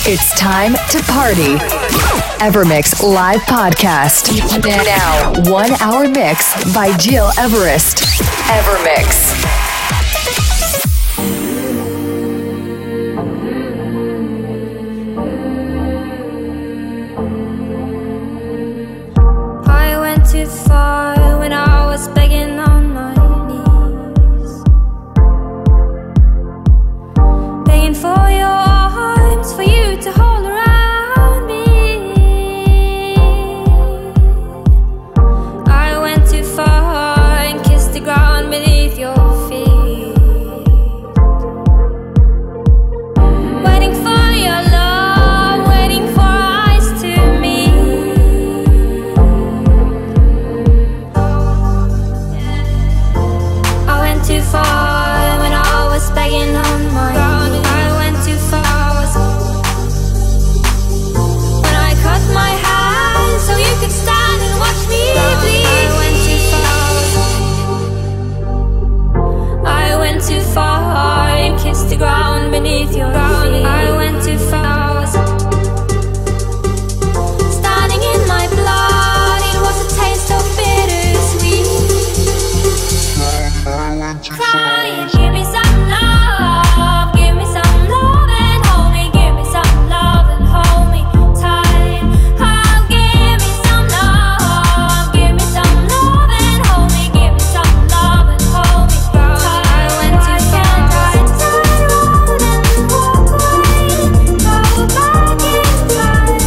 It's time to party. Evermix Live Podcast. Now, 1 hour mix by Gil Everest. Evermix. I went too far when I was begging on my knees, begging for your arms, for you to hold around me. I went too far and kissed the ground beneath your feet, waiting for your love, waiting for eyes to meet. I went too far when I was begging on my knees. I went too far when I cut my hand so you could stand and watch me bleed. I went too far. I went too far and kissed the ground beneath your feet. I went too far. Standing in my blood, it was a taste of bittersweet. Crying, give me some love, give me some love and hold me, give me some love and hold me tight. Oh, give me some love, give me some love and hold me, give me some love and hold me tight. I went too far, I turn around and walk away, go back in time.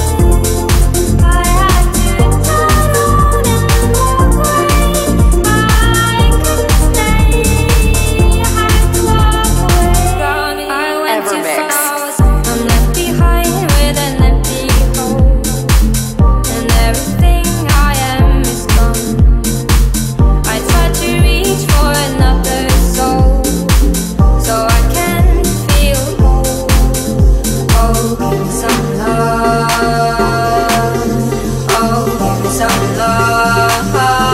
I had to turn around and walk away, I couldn't stay, I had to walk away. I went too Evermix. far, I'm left behind with an empty hole, and everything I am is gone. I tried to reach for another soul, so I can feel whole. Oh, give me some love. Oh, give me some love.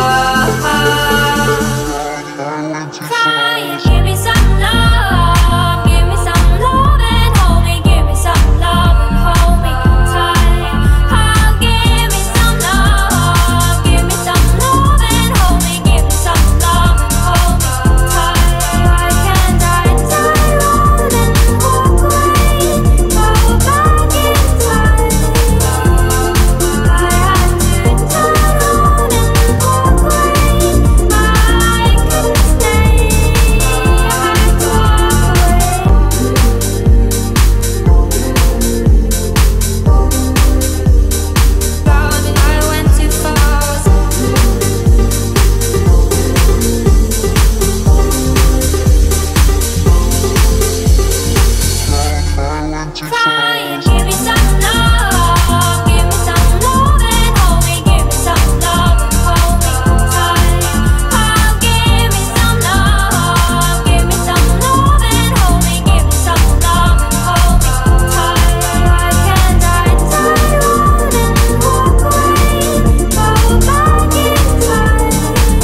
Crying, give me some love, give me some love and hold me, give me some love and hold me tight. Oh, give me some love, give me some love and hold me, give me some love and hold me tight. I can't turn around and walk away, go back in time. I had to turn around and walk away, I couldn't stay, I had to walk away. I went too far. Crying, give me some love, give me some love and hold me, give me some love and hold me tight. Oh, give me some love, give me some love and hold me, give me some love and hold me tight. I can't turn around and walk away, go back in time.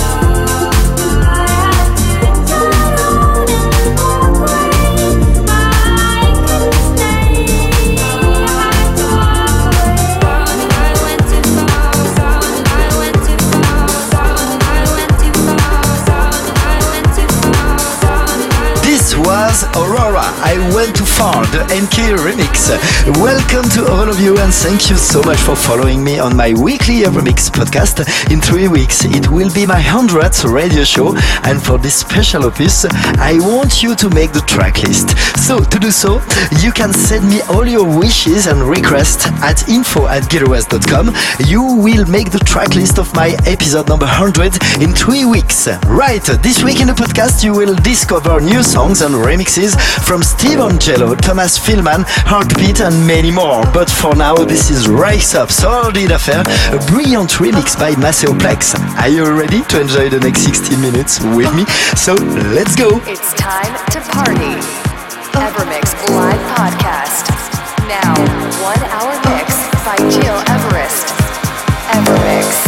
I had to turn around and walk away, I couldn't stay, I had to walk away. I went too far, I went too far, I went too far, I went too far. This was Aurora, I Went Too Far, the NK remix. Welcome to all of you and thank you so much for following me on my weekly Evermix podcast. In 3 weeks it will be my 100th radio show, and for this special opus I want you to make the track list. So to do so, you can send me all your wishes and requests at info@gileverest.com. You will make the track list of my episode number 100 in 3 weeks. Right, this week in the podcast you will discover new songs and remixes from Steve Angelo, Thomas Philman, Heartbeat and many more. But for now, this is Rise Up, Sordid Affair, a brilliant remix by Maceo Plex. Are you ready to enjoy the next 60 minutes with me? So let's go! It's time to party. Evermix Live Podcast. Now, 1 hour mix by Gil Everest. Evermix.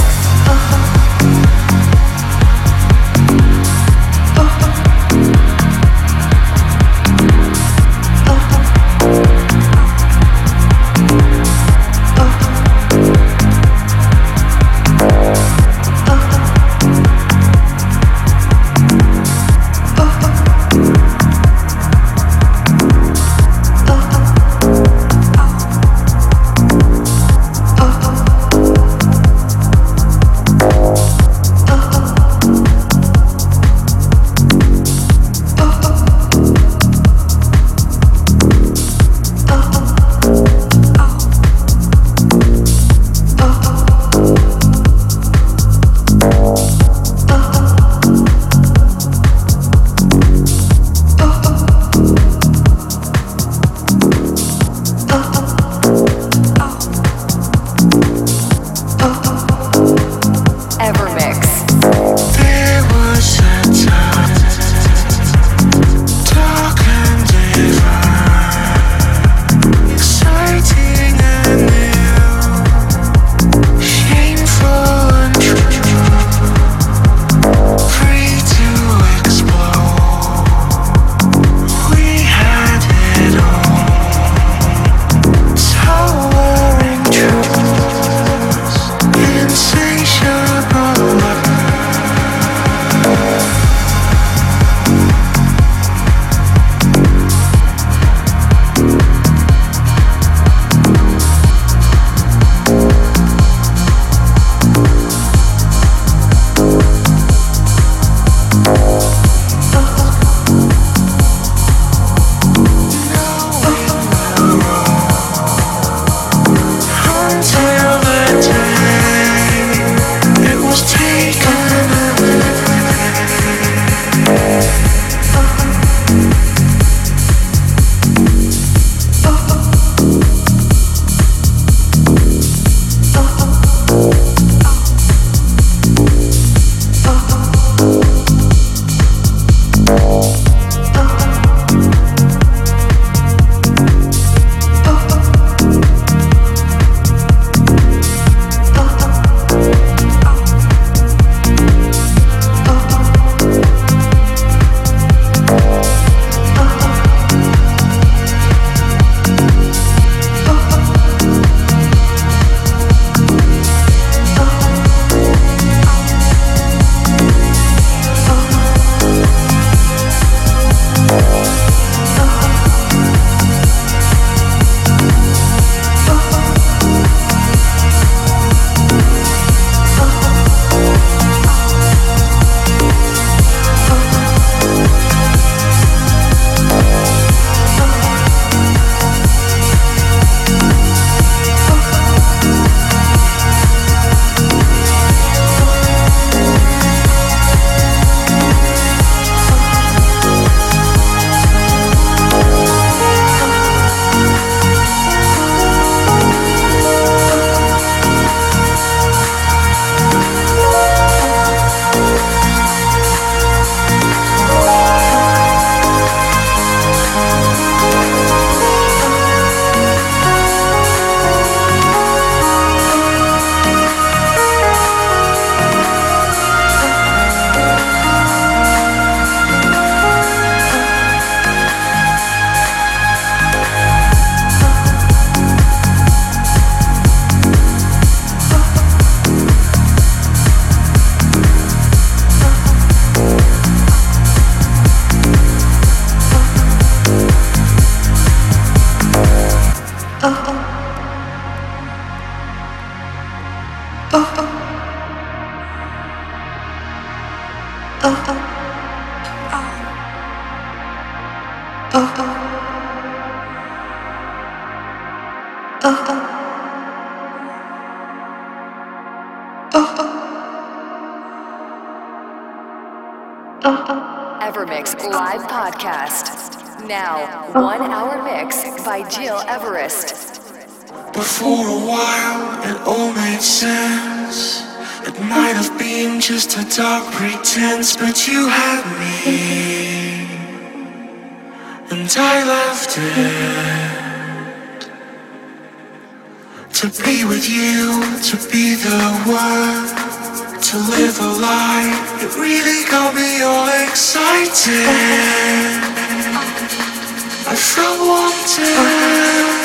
Evermix Live Podcast. Now, 1 hour mix by Jill Everest. But for a while it all made sense. It might have been just a dark pretense, but you had me, and I left it to be with you, to be the one, to live a life. It really got me all excited. I felt wanted.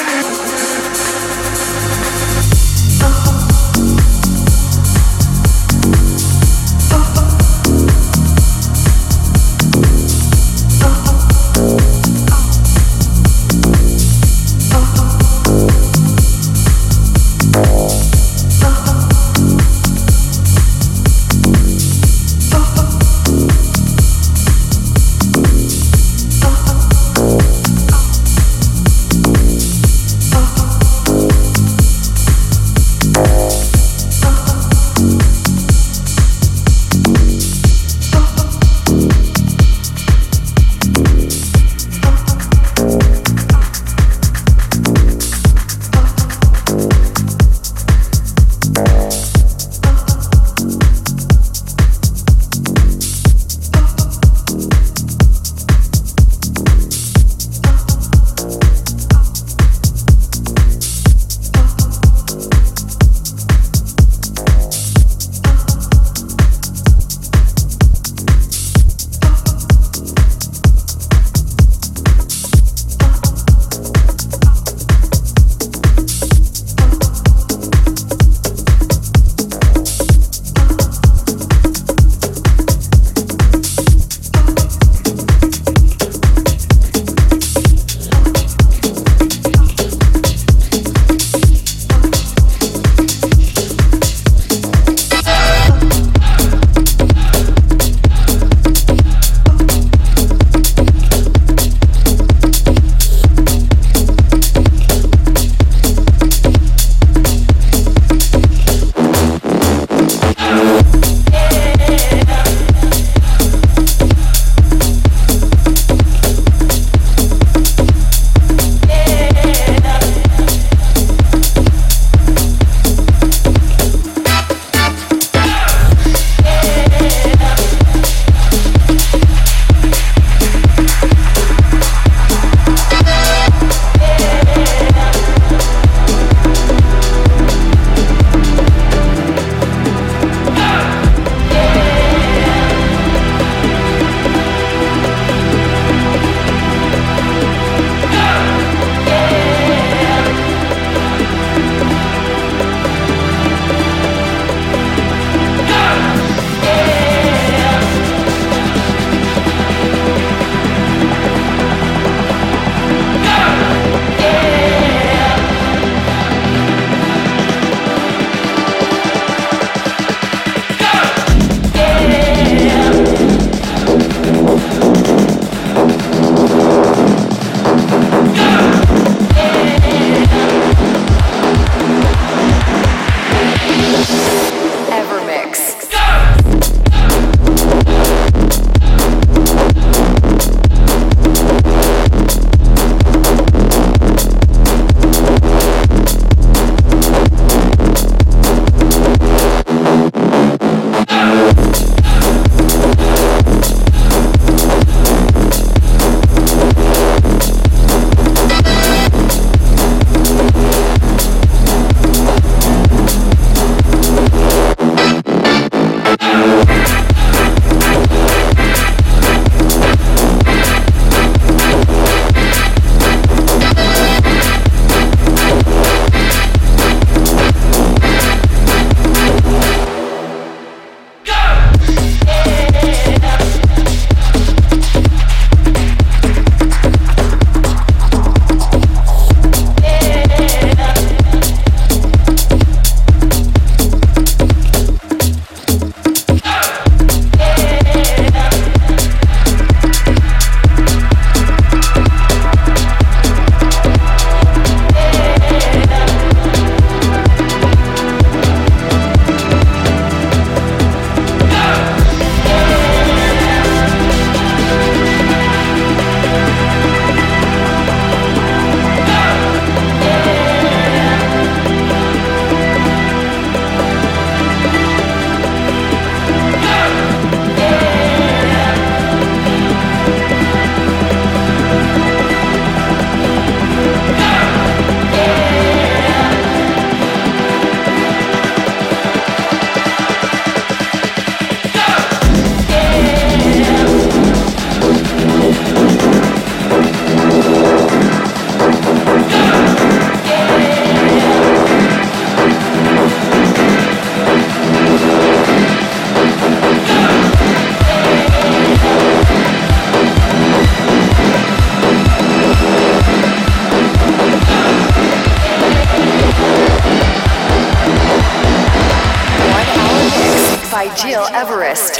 Gil Everest.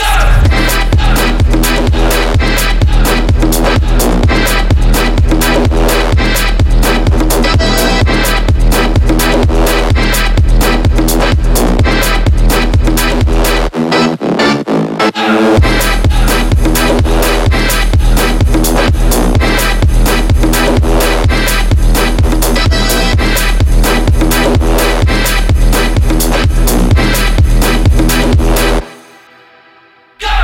Go!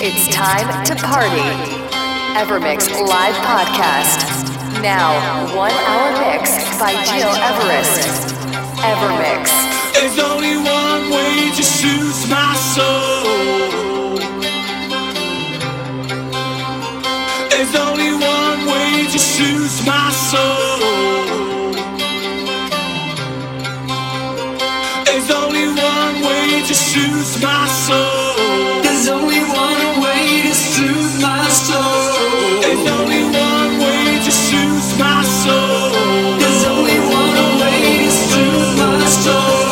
It's time to party. Evermix Live Podcast. Now, 1 hour mix by Gil Everest. Evermix. There's only one way to soothe my soul. There's only one way to soothe my soul. There's only one way to soothe my soul. There's only one way to soothe my soul. There's only one way to soothe my soul. There's only one way to soothe my soul.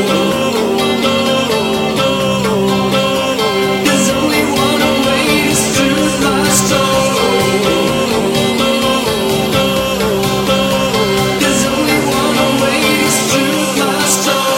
There's only one way to soothe my soul. There's only one way to soothe my soul.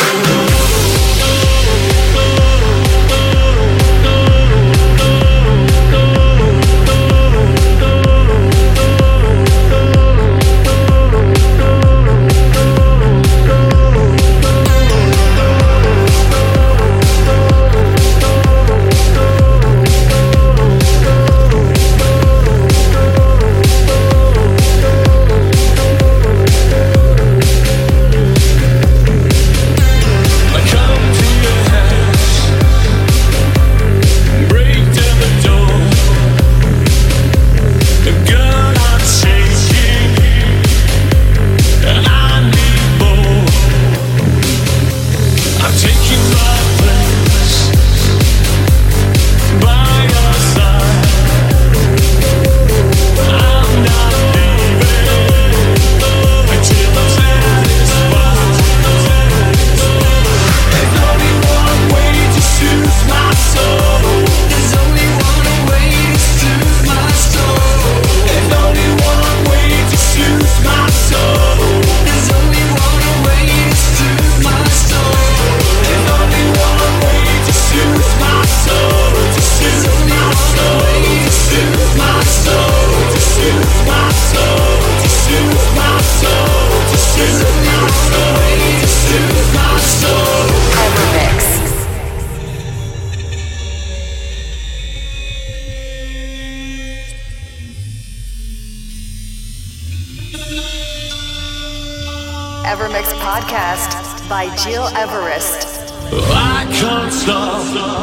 Evermix Podcast by Gil Everest. I can't stop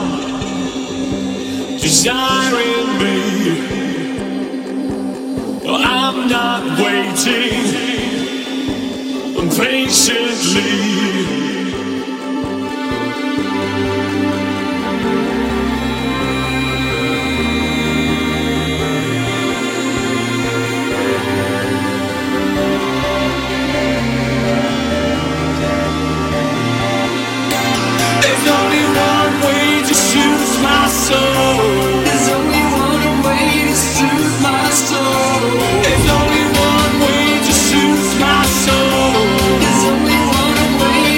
desiring me. I'm not waiting patiently. There's only one way to soothe my soul. There's only one way to soothe my soul. There's only one way to soothe my soul. There's only one way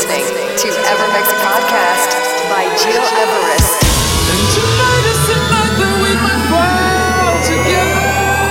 listening to Evermix Podcast by Gil Everest. And tonight is the night that we might fall together.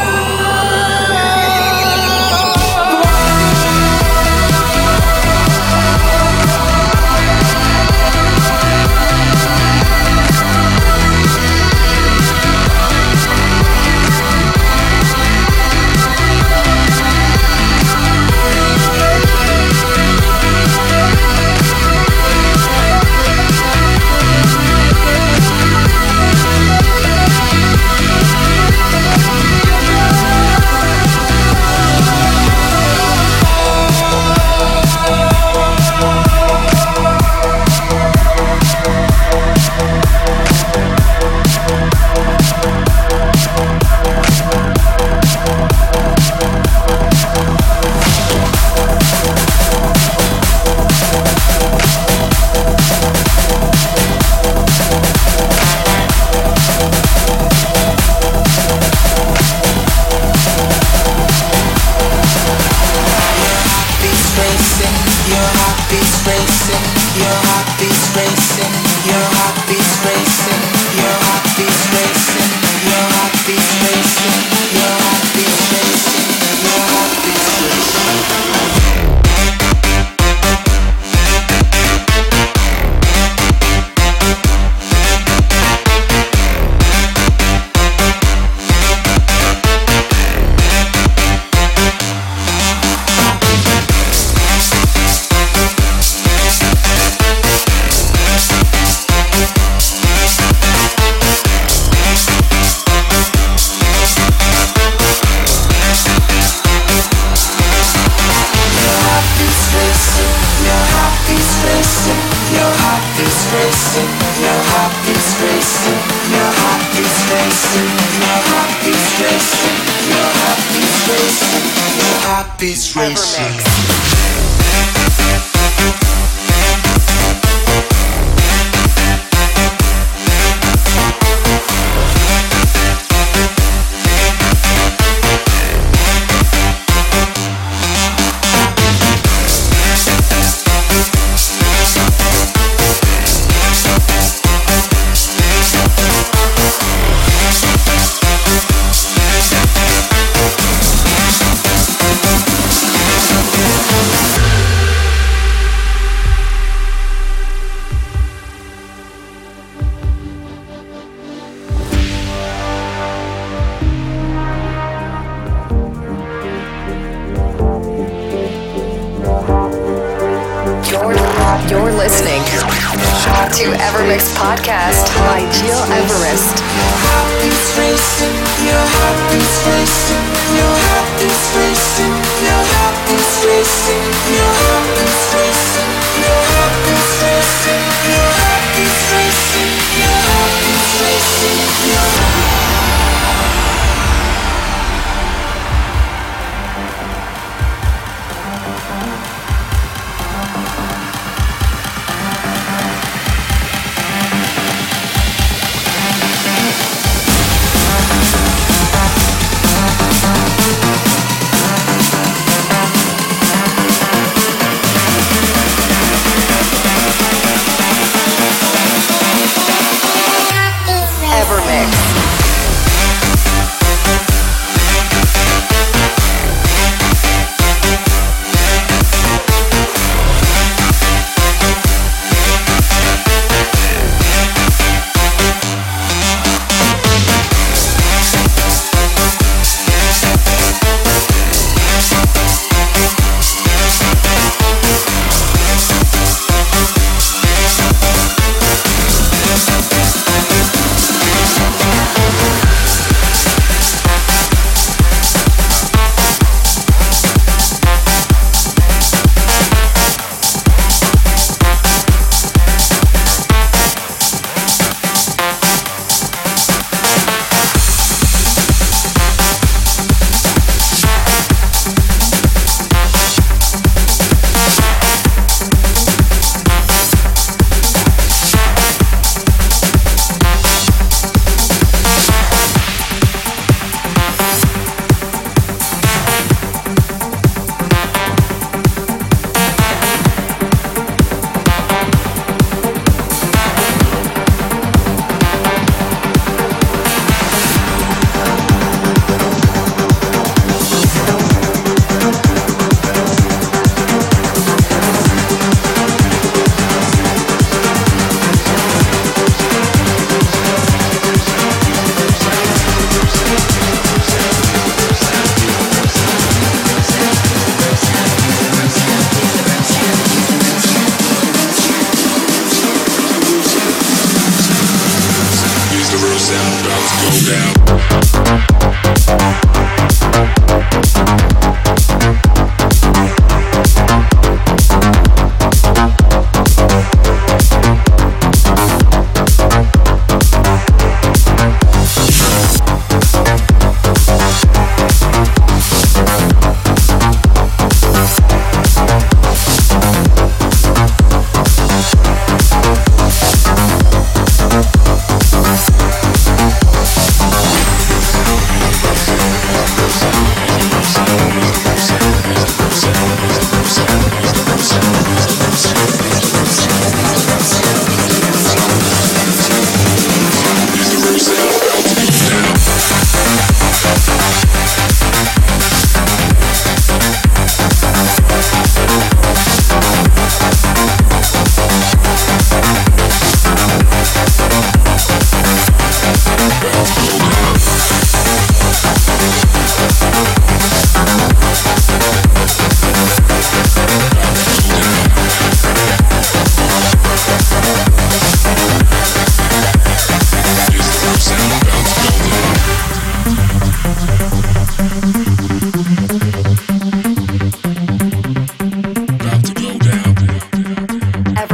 Beats racing. You're listening to Evermix Podcast by Gil Everest.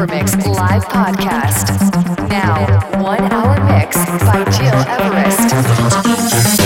Evermix live podcast. Now, 1 hour mix by Jill Everest.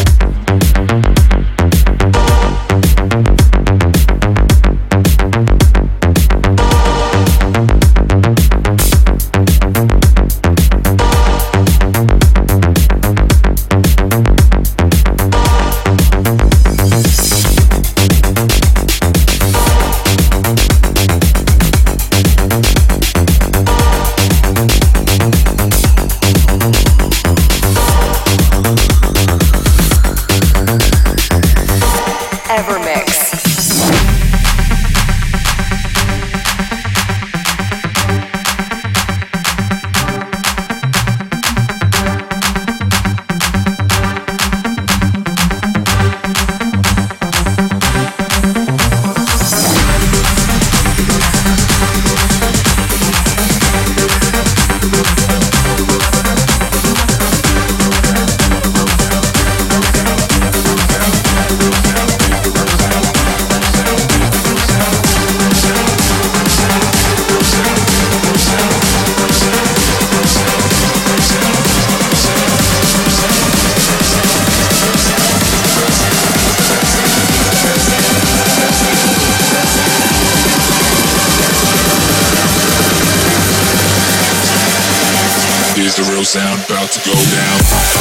The real sound about to go down.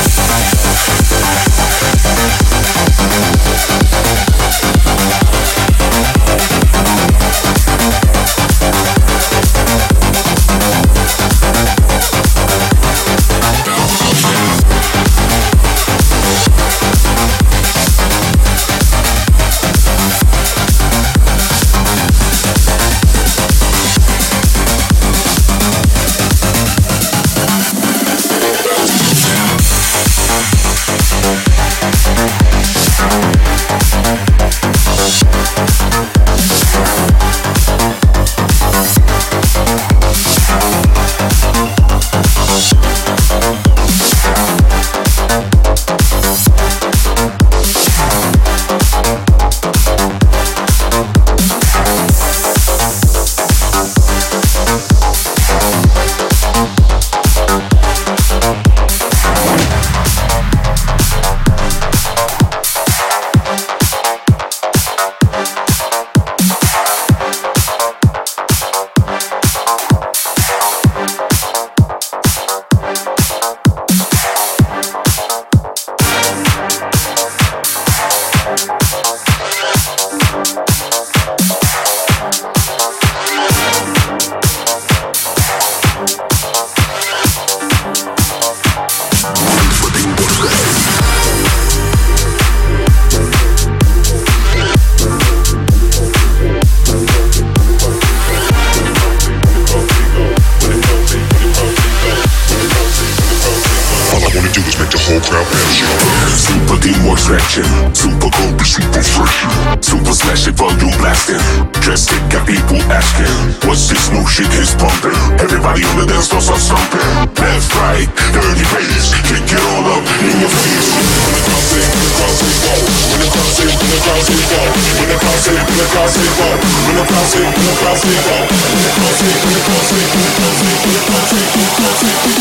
Super teamwork stretching, super cold, super fresh, super slashing, volume blasting. Just it got people asking, what's this new shit is pumping? Everybody on the dance floor start stomping. Left, right, dirty bass, kick it all up in your face. When the crowd say, when the crowd say, whoa. When the crowd say, when the crowd say, whoa. When the crowd say, when the crowd say, whoa. When the crowd say, when the crowd say, whoa. When the crowd say, when the crowd say, when the crowd say, when the crowd say, when the crowd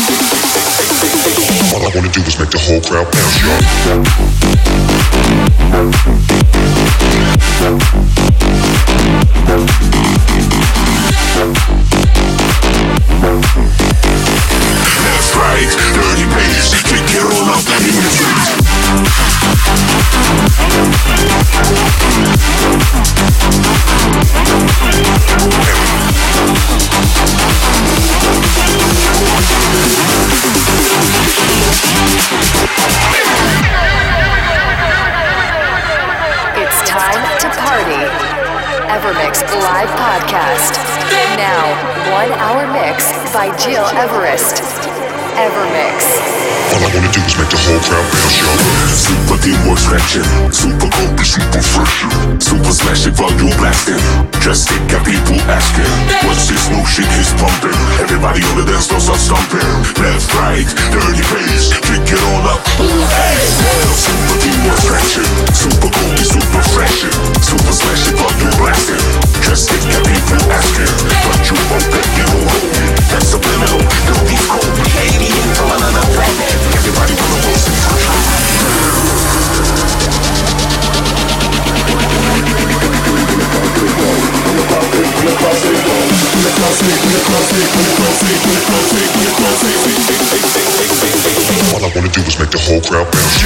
say. All I wanna do is make the whole crowd bounce, y'all. Left, right, dirty bass, kick it all up in your face. It's time to party. Evermix live podcast. Now, 1 hour mix by Jill Everest. Evermix. All I wanna do is make the whole crowd bounce, y'all. Super teamwork stretching, super cold, super fresh, super slashing, volume blasting. Just it got people asking, what's this new shit is pumping? Everybody on the dance floor start stomping. Left, right, dirty bass, kick it all up. Hey, super teamwork stretching, super cold, super fresh, super slashing, volume blasting. Just it got people asking, but you won't get it all. All I wanna do is make the whole crowd bounce,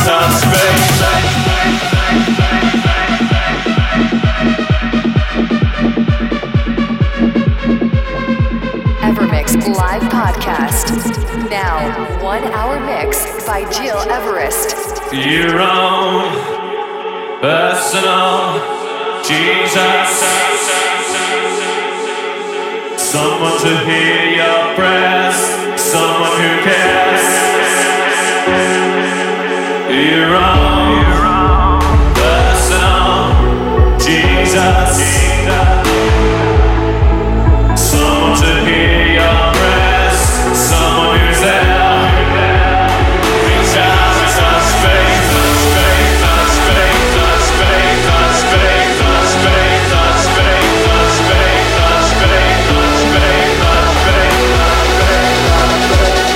Evermix Live Podcast. Now, 1 hour mix by Jill Everest. Your own personal Jesus. Someone to hear your prayers. Someone who cares. Your own personal Jesus. Someone to hear your prayers. Someone who's there. Reach out to touch faith, touch faith, touch faith, touch faith, touch faith, touch faith, touch faith, touch faith, touch faith, touch faith, touch faith, touch faith.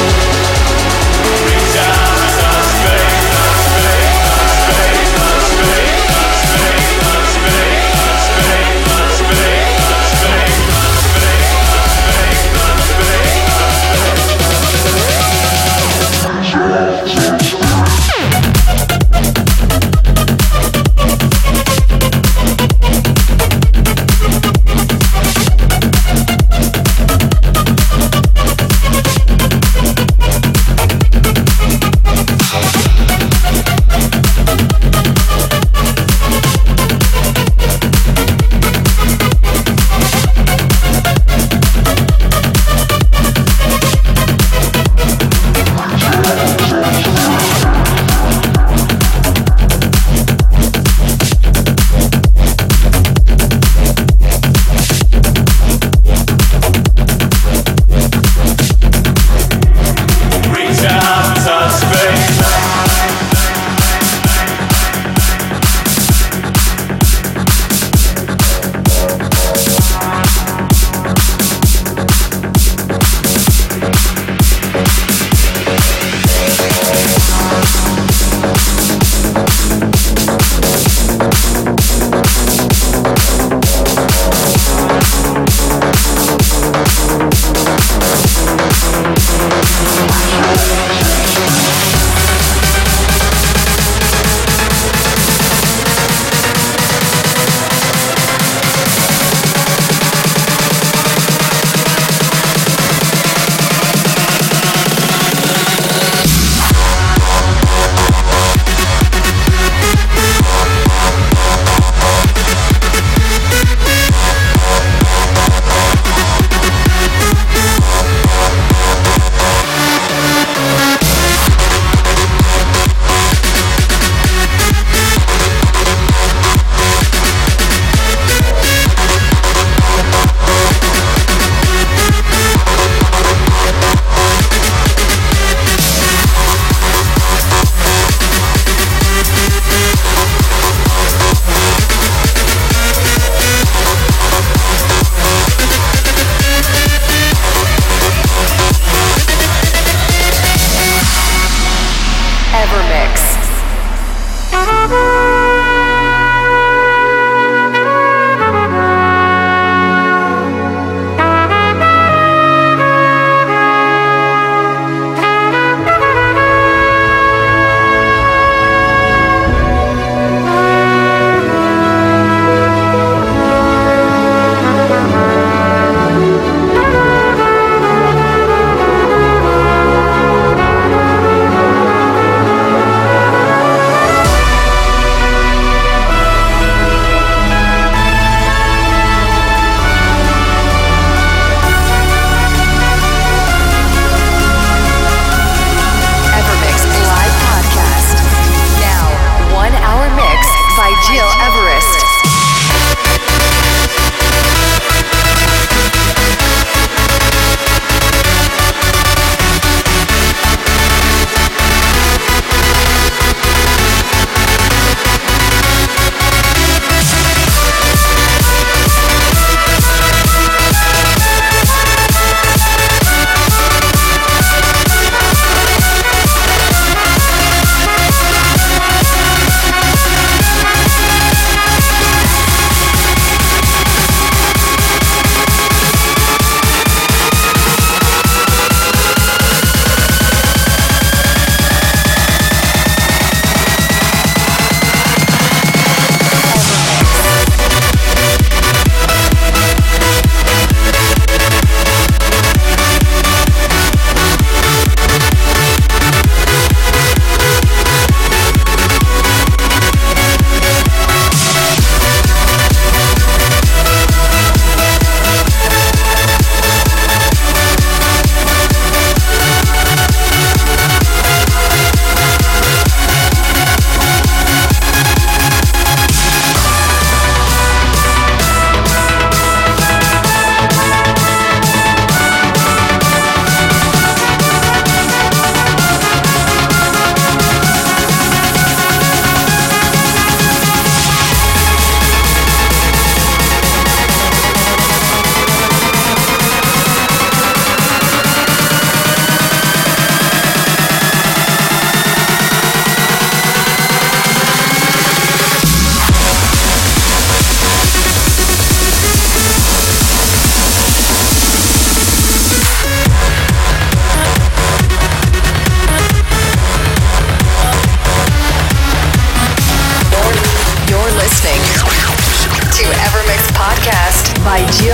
Reach out to touch faith, touch faith, touch faith, touch faith, touch faith, touch faith, touch faith, touch faith, touch faith.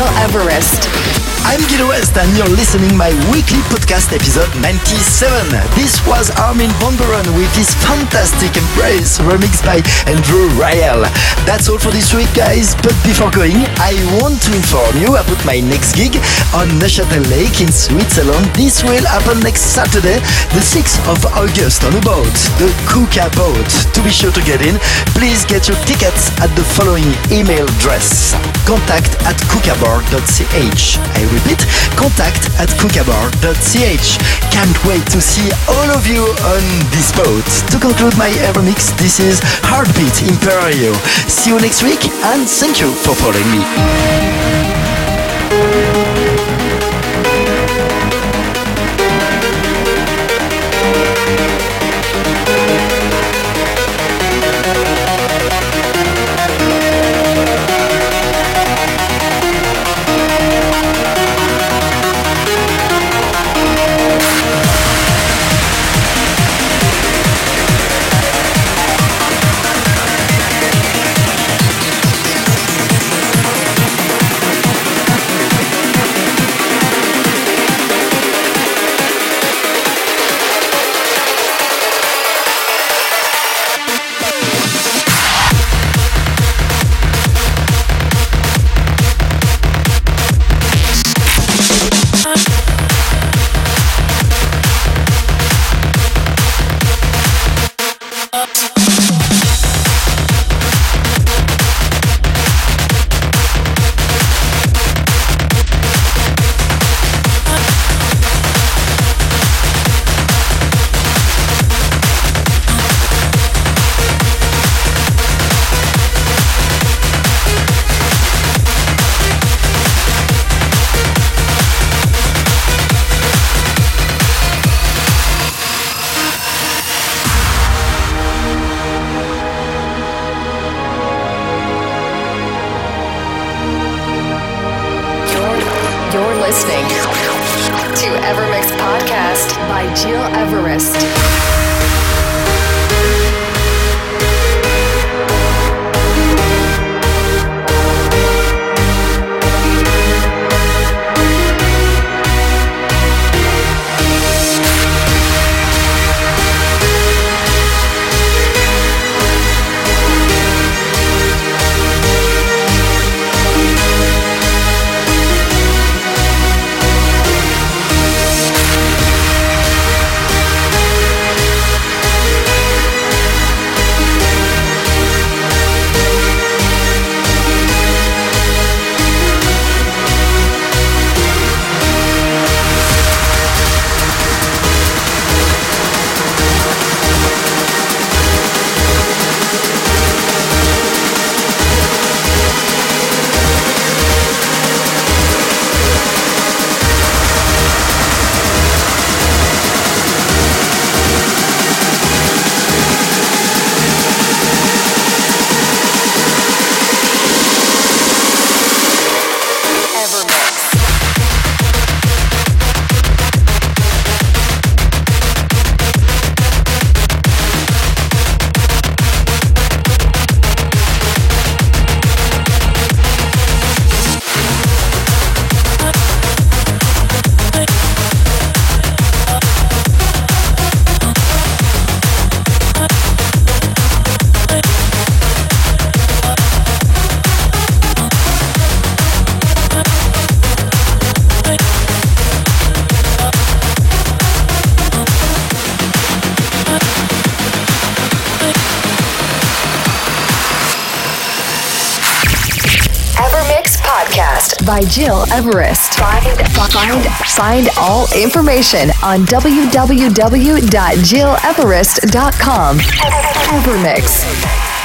Everest. I'm Gil West and you're listening my weekly podcast episode 97. This was Armin van Buuren with his fantastic Embrace remixed by Andrew Rayel. That's all for this week, guys, but before going, I want to inform you about my next gig on Neuchâtel Lake in Switzerland. This will happen next Saturday, the 6th of August on a boat, the Kuka boat. To be sure to get in, please get your tickets at the following email address: contact@kukabar.ch. I repeat, contact@kukabar.ch. Can't wait to see all of you on this boat. To conclude my Evermix, this is Heartbeat Imperio. See you next week and thank you for following me. You're listening to Evermix Podcast by Gil Everest. By Gil Everest. Find all information on www.gileverest.com. Evermix.